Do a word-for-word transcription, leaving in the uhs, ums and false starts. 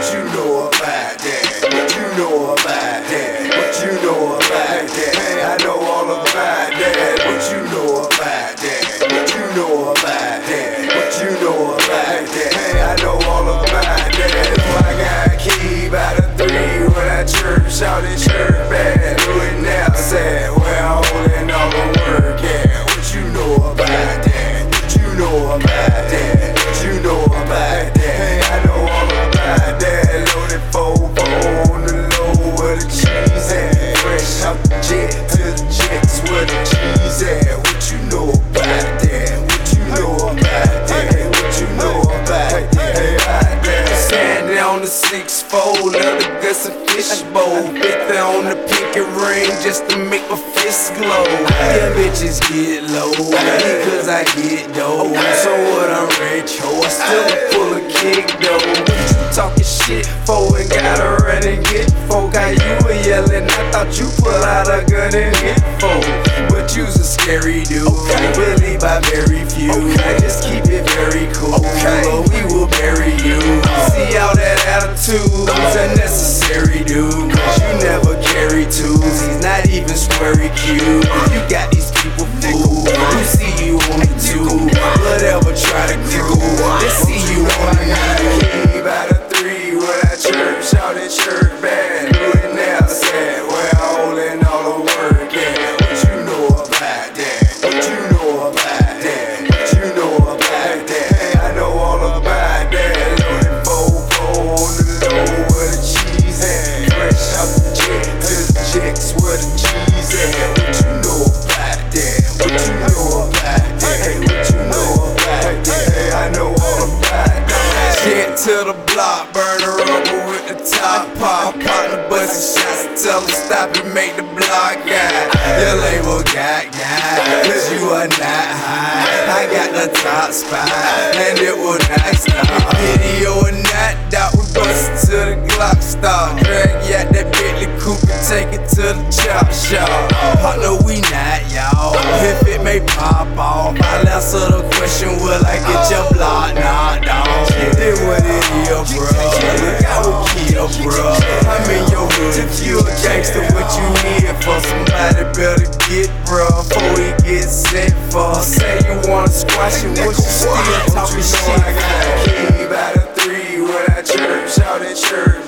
What you know about that? What you know about that? What you know about that? Hey, I know all about that. What you know about that? What you know about that? What you know about that? Hey, I know all about that. I got a key by the three when I chirp, shout it, chirp bad. Do it now, say where I'm holding all the work. Yeah, what you know about that? What you know about that? What you know about that? Hey, I know all about that. Loaded four four on the low where the cheese at. Fresh out the jet to the jets where the cheese at. What you know about that? What you know about that? What you know about that? Hey, about that. Standing on the six fold of the guts and fishbowl. fifty on the pinky ring just to make my fist glow. Yeah, bitches get low because I get dough. So what, I'm rich, ho, I still full of kick though. Talking shit for and gotta run and get folk. How you were yelling, I thought you pull out a gun and hit folk. But you's a scary dude, believed by very few. I just keep it very cool, but we will bury you. See all that attitude's unnecessary, dude, cause you never carry tools. He's not even sweary cute. You got these people fooled who see you on the tube. Whatever, try to crew. They see you on the key by the three when I chirp, shout it, chirp bad. Do it now, sad. Where I'm holding all the work. Yeah, what you know about that? What you know about that? What you know about that? Hey, I know all about that. Loaded four four on the low where the cheese at. Fresh out the jet to the checks where the cheese at. What you know about that? What you know about that? Hey, what you know about that? Hey, I know all about that. Shit to the block, burn her rubber with the top pop. Partner bustin' shots, tell them stop and make the block guy. Your label got guy, cause you are not high. I got the top spot, and it will not stop. Video or not, doubt we bustin' till the Glock stop. Drag ya that Bentley coupe and take it to the chop shop. Partner, we not y'all, if it may pop off. I'll answer the question, will I get your block knocked off? It what it is, bro. Look out with Kia, bro. I'm in your hood. If you a gangster, what you need for? Somebody better get, bro, before he gets sent for. Say you wanna squash it, what you still talking shit? I got a key by the three when I chirp, shout it, chirp.